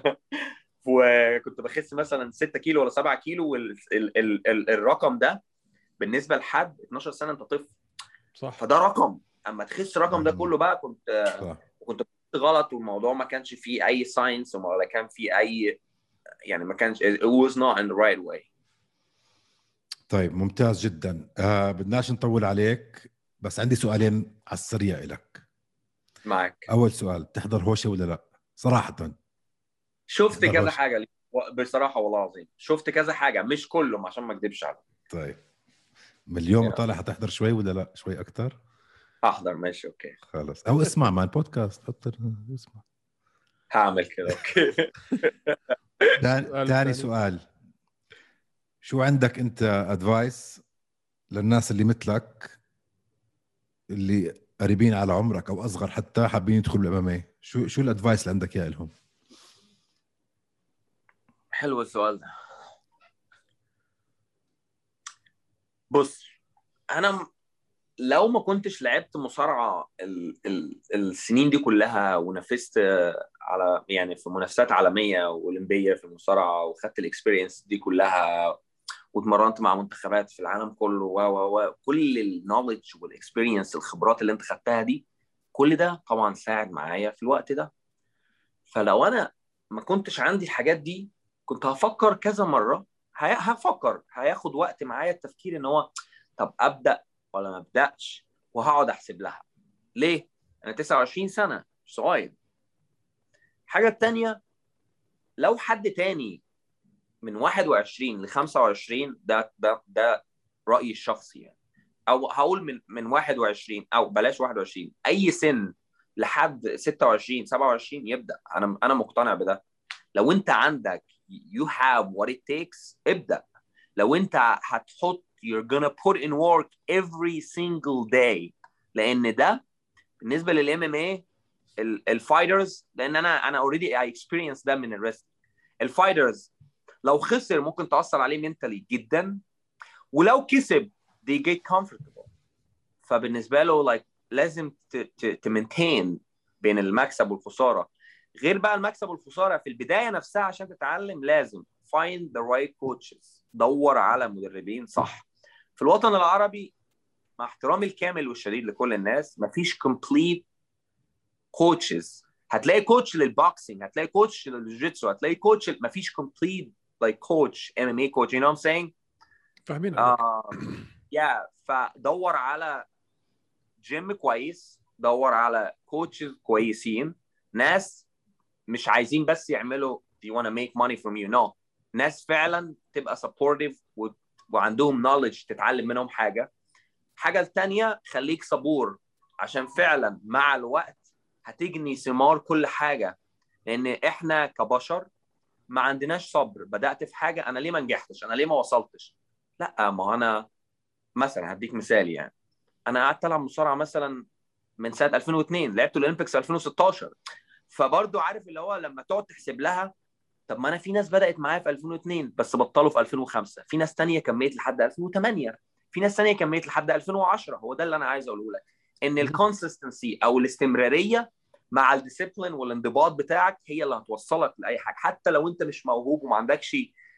وكنت بخس مثلا ستة كيلو ولا سبعة كيلو، والرقم ده بالنسبه لحد اتناشر سنه انت طفل. صح. فده رقم، اما تخس الرقم ده كله بقى كنت صح. كنت غلط، والموضوع ما كانش فيه اي ساينس ولا كان فيه اي يعني ما كانش it was not in the right way. طيب ممتاز جدا. آه بدناش نطول عليك، بس عندي سؤالين على السريع لك. معك. اول سؤال، تحضر هوشه ولا لا صراحه؟ شفت كذا هوشة. حاجه بصراحه والله العظيم، شفت كذا حاجه مش كلهم عشان ما اكذبش عليك. طيب من اليوم yeah. طالع حتحضر شوي ولا لا شوي اكثر؟ احضر ماشي اوكي خلاص، او اسمع مع البودكاست حط اسمع. هعمل كده اوكي. ثاني سؤال، شو عندك انت ادفايس للناس اللي مثلك اللي قريبين على عمرك او اصغر حتى حابين يدخلوا الامامي؟ شو شو الادفايس اللي عندك اياه لهم؟ حلو السؤال ده. بص انا لو ما كنتش لعبت مصارعه ال ال السنين دي كلها ونفست على يعني في منافسات عالميه واولمبيه في المصارعه وخدت الاكسبيرينس دي كلها واتمرنت مع منتخبات في العالم كله و و و كل النوليدج والاكسبيرينس الخبرات اللي انت خدتها دي كل ده طبعا ساعد معايا في الوقت ده. فلو انا ما كنتش عندي الحاجات دي كنت هفكر كذا مره، هفكر هياخد وقت معايا التفكير ان هو طب ابدا ولا ما ابداش، وهقعد احسب لها ليه انا تسعة وعشرين سنه صغير. الحاجه الثانيه لو حد تاني من واحد وعشرين ل خمسة وعشرين ده ده ده رايي الشخصي يعني، او هقول من من واحد وعشرين او بلاش واحد وعشرين اي سن لحد ستة وعشرين سبعة وعشرين يبدا. انا انا مقتنع بده. لو انت عندك you have what it takes ابدا. لو انت هتحط you're gonna put in work every single day، لان ده بالنسبه للام ام اي الفايترز، لان انا انا already I experience ده من الريست. الفايترز لو خسر ممكن تاثر عليه منتلي جدا، ولو كسب they get comfortable. فبالنسبه له like لازم تمنتين بين المكسب والخساره. غير بقى المكسب والخساره في البدايه نفسها عشان تتعلم لازم find the right coaches، دور على مدربين صح. في الوطن العربي مع احترامي الكامل والشديد لكل الناس مفيش complete coaches. هتلاقي كوتش للبوكسينج، هتلاقي كوتش للجيتسو، هتلاقي كوتش، مفيش complete like coach ام ام اي coach. you know what I'm saying؟ فاهمين عليك. uh, yeah. فدور على جيم كويس، دور على كوتشز كويسين، ناس مش عايزين بس يعملوا you want to make money from you no، ناس فعلا تبقى supportive و... وعندهم knowledge تتعلم منهم حاجة. حاجة التانية خليك صبور، عشان فعلا مع الوقت هتجني ثمار كل حاجة، لأن إحنا كبشر ما عندناش صبر. بدأت في حاجة أنا ليه ما نجحتش، أنا ليه ما وصلتش؟ لا، ما أنا مثلا هديك مثال يعني، أنا قعدت ألعب مصارعة مثلا من سنة ألفين واثنين، لعبت الأولمبيكس ألفين وستاشر. فبرضه عارف اللي هو لما تقعد تحسب لها طب ما انا في ناس بدات معايا في ألفين واثنين بس بطلوا في ألفين وخمسة، في ناس تانية كملت لحد ألفين وثمانية، في ناس تانية كملت لحد ألفين وعشرة. هو ده اللي انا عايز اقوله لك، ان الكونسستنسي او الاستمراريه مع الديسيبلين والانضباط بتاعك هي اللي هتوصلك لاي حاجه، حتى لو انت مش موهوب وما عندكش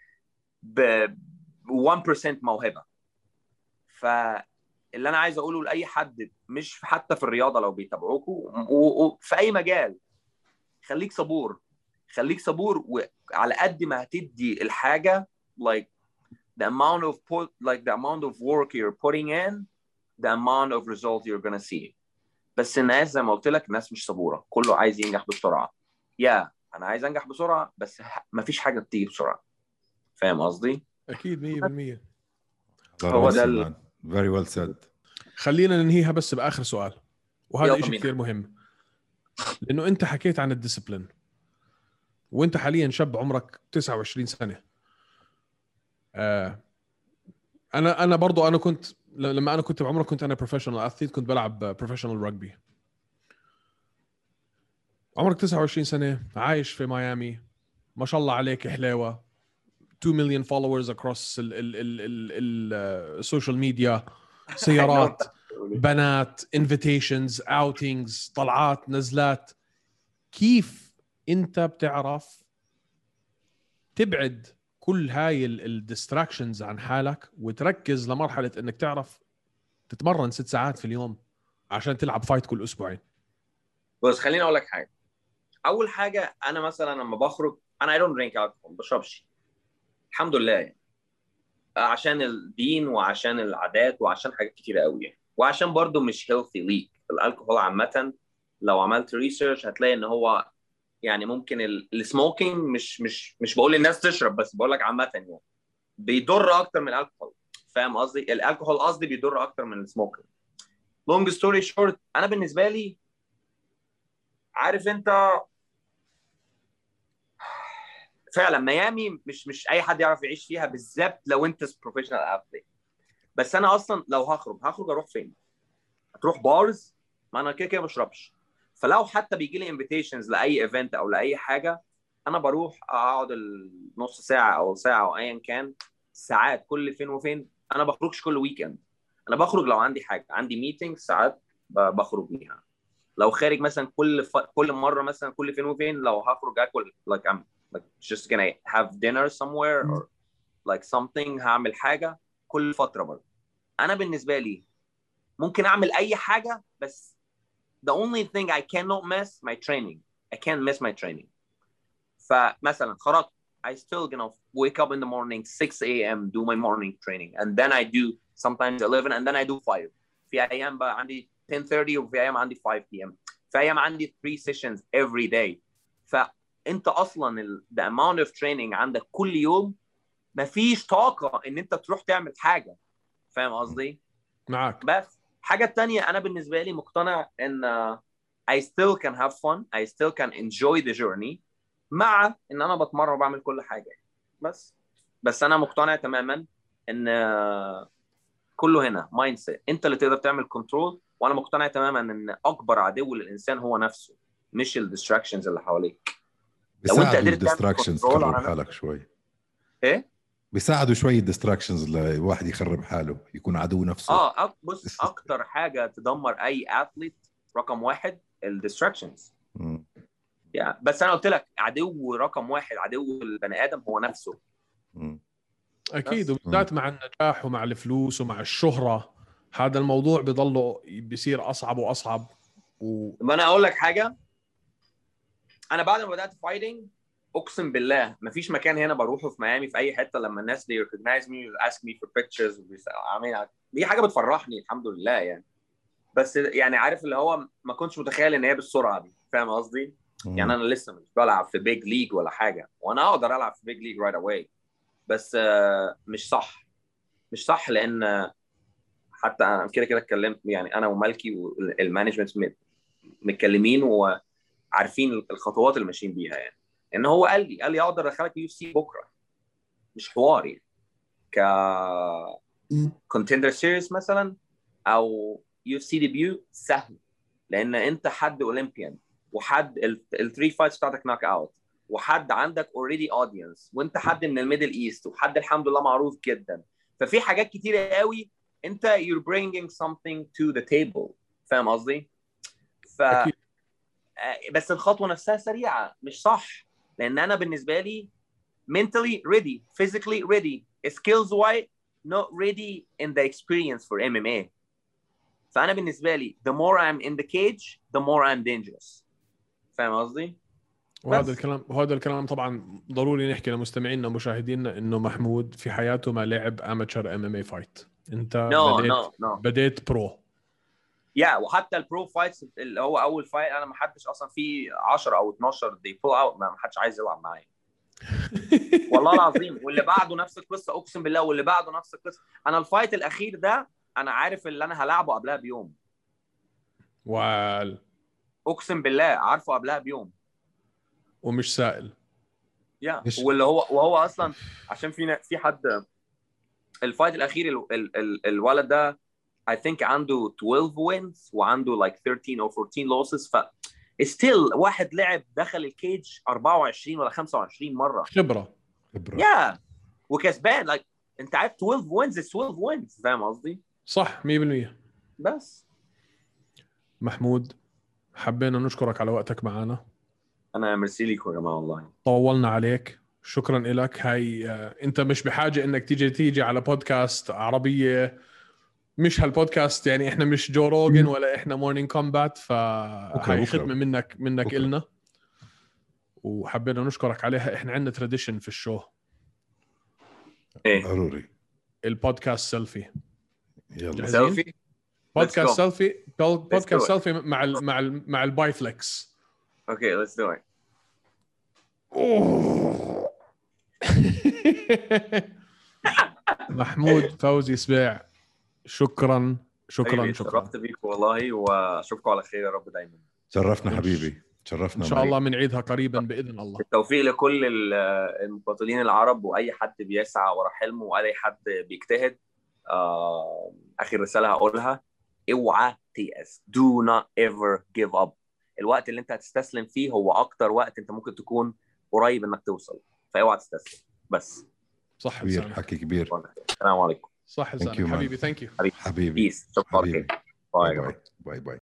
ب واحد بالمية موهبه. فاللي انا عايز اقوله لاي حد مش حتى في الرياضه لو بيتابعوكوا وفي اي مجال، خليك صبور، خليك صبور. وعلى قد ما هتدي الحاجة like the amount of put, like the amount of work you're putting in, the amount of result you're gonna see. بس الناس زي ما قلت لك الناس مش صبورة، كله عايز ينجح بسرعة. يا yeah, أنا عايز أنجح بسرعة بس ما فيش حاجة بتيجي بسرعة. فاهم قصدي؟ أكيد مية بالمية. هو ده ال... very well said. خلينا ننهيها بس بآخر سؤال، وهذا شيء كثير مهم، لأنه أنت حكيت عن الديسيبلين وانت حاليا شاب عمرك تسعة وعشرين سنه. آه انا انا برضو انا كنت لما انا كنت بعمرك كنت انا بروفيشنال اثليت، كنت بلعب بروفيشنال رugby. عمرك تسعة وعشرين سنه، عايش في ميامي، ما شاء الله عليك حلاوه، two million followers across ال ال ال ال السوشيال ميديا، سيارات، بنات، invitations، outings، طلعات، نزلات. كيف انت بتعرف تبعد كل هاي الديستراكشنز عن حالك وتركز لمرحلة انك تعرف تتمرن ست ساعات في اليوم عشان تلعب فايت كل اسبوعين؟ بس خليني اقول لك حاجة. اول حاجة انا مثلا لما بخرج انا I don't drink alcohol، بشربش الحمد لله يعني. عشان الدين وعشان العادات وعشان حاجات كتيرة قوي يعني. وعشان برضو مش healthy ليك. الالكحول عامة لو عملت ريسيرش هتلاقي ان هو يعني ممكن السموكينج مش مش مش بقول للناس تشرب، بس بقول لك عامه يعني بيضر اكتر من الالكحول. فاهم قصدي؟ الالكحول قصدي بيضر اكتر من السموكينج. لونج ستوري شورت، انا بالنسبه لي عارف انت فعلا ميامي مش مش اي حد يعرف يعيش فيها، بالذات لو انت بروفيشنال اثليت. بس انا اصلا لو هخرج هخرج اروح فين؟ هتروح بارز؟ ما انا كده كده ما بشربش. فلو حتى بيجي لي انفيتيشنز لاي ايفنت او لاي حاجه انا بروح اقعد النص ساعه او ساعه او ايا كان ساعات كل فين وفين. انا بخرجش كل ويكند، انا بخرج لو عندي حاجه، عندي ميتنج ساعات بخرج بيها. لو خارج مثلا كل ف... كل مره مثلا كل فين وفين لو هخرج اكل like I'm like just gonna have dinner somewhere or like something هعمل حاجه كل فتره برضه. انا بالنسبه لي ممكن اعمل اي حاجه بس the only thing I cannot miss my training. I can't miss my training. فمثلا خرجت I still gonna wake up in the morning six a.m. do my morning training and then I do sometimes eleven and then I do five. في ايام بقى عندي ten thirty وفي ايام عندي five p.m. في ايام عندي three sessions every day. فانت اصلا ال, the amount of training عندك كل يوم مفيش طاقه ان انت تروح تعمل حاجه. فاهم قصدي؟ معك. بس حاجه تانية انا بالنسبه لي مقتنع ان uh, I still can have fun. I still can enjoy the journey مع ان انا بتمرن وبعمل كل حاجه. بس بس انا مقتنع تماما ان uh, كله هنا مايند سيت. انت اللي تقدر تعمل كنترول. وانا مقتنع تماما ان اكبر عدو للانسان هو نفسه مش الديستراكشنز اللي حواليك. لو انت قدرت الديستراكشنز تخرب حالك شوي. ايه بيساعدوا شويه الديستراكشنز الواحد يخرب حاله يكون عدو نفسه. اه أك... بص اكتر حاجه تدمر اي اثليت رقم واحد الديستراكشنز. يعني بس انا قلت لك عدو رقم واحد عدو البني ادم هو نفسه. مم. اكيد وبالذات مع النجاح ومع الفلوس ومع الشهره هذا الموضوع بيضله بيصير اصعب واصعب. و... ما انا اقول لك حاجه. انا بعد ما بدات فايتنج اقسم بالله مفيش مكان هنا بروحه في ميامي في اي حته لما الناس they recognize me and ask me for pictures وبيعملوا دي حاجه بتفرحني الحمد لله يعني. بس يعني عارف اللي هو ما كنتش متخيل ان هي بالسرعه دي. فاهم قصدي؟ يعني انا لسه مش بلعب في بيج ليج ولا حاجه وانا اقدر العب في بيج ليج right away. بس مش صح مش صح لان حتى انا كده كده اتكلمت يعني انا ومالكي والمانجمنت متكلمين وعارفين الخطوات اللي ماشيين بيها. يعني ان هو قال لي قال لي اقدر ادخلك يو سي بكره مش حوار يعني ك كونتندر سيريس مثلا او يو سي ديبيو سهل لان انت حد اولمبيان وحد الثري فايتس بتاعتك ناك اوت وحد عندك اوريدي اودينس وانت حد من الميدل ايست وحد الحمد لله معروف جدا. ففي حاجات كتيره قوي انت you're bringing something to the table. فاهم قصدي؟ ف أكيد. بس الخطوه نفسها سريعه مش صح لان انا بالنسبه لي mentally ready physically ready skills wise not ready in the experience for M M A. فانا بالنسبه لي the more I'm in the cage the more I'm dangerous. فاهم قصدي؟ وهذا الكلام وهذا الكلام طبعا ضروري نحكي لمستمعينا ومشاهدينا انه محمود في حياته ما لعب اماتشر ام ام اي فايت. انت no, بديت no, no. بديت برو. يا yeah, وحتى البرو فايتس اللي هو اول فايت انا ما حدش اصلا في عشرة او اتناشر دي بول اوت ما حدش عايز يلعب معايا. والله العظيم. واللي بعده نفس القصه اقسم بالله واللي بعده نفس القصه. انا الفايت الاخير ده انا عارف اللي انا هلعبه قبلها بيوم. وال اقسم بالله عارفه قبلها بيوم ومش سائل. يا yeah. واللي هو وهو اصلا عشان في في حد الفايت الاخير ال ال ال الولد ده I think عنده twelve wins وعنده like thirteen or fourteen losses. ف still واحد لعب دخل الكيج أربعة وعشرين ولا خمسة وعشرين مره خبره خبره يا yeah. وكسبان like انت عارف twelve wins is twelve wins. فاهم قصدي؟ صح مية بالمية. بس محمود حبينا نشكرك على وقتك معنا. انا ميرسي لكم يا جماعه والله طولنا عليك. شكرا لك. هاي انت مش بحاجه انك تيجي تيجي على بودكاست عربيه مش هالبودكاست يعني احنا مش جو روجن ولا احنا مورنينج كومبات. فهاي خدمه منك منك بكرة. إلنا وحبينا نشكرك عليها. احنا عندنا تراديشن في الشو ايه ضروري البودكاست سيلفي. يلا سيلفي بودكاست سيلفي بودكاست سيلفي مع ال مع ال مع البايفلكس. اوكي let's do it. محمود فوزي سبيع شكرا شكرا شكرا. شرفت بيك والله واشوفكم على خير يا رب دايما. شرفنا حبيبي شرفنا ان شاء الله بنعيدها قريبا باذن الله. التوفيق لكل المقاتلين العرب واي حد بيسعى ورا حلمه واي حد بيجتهد. آه، اخر رساله هقولها اوعى تيأس. do not ever give up. الوقت اللي انت هتستسلم فيه هو اكتر وقت انت ممكن تكون قريب انك توصل. فاوعى تستسلم بس. صح كبير حكي كبير. السلام عليكم. صح حبيبي ثانك يو حبيبي حبيبي حبيبي باي باي. باي باي.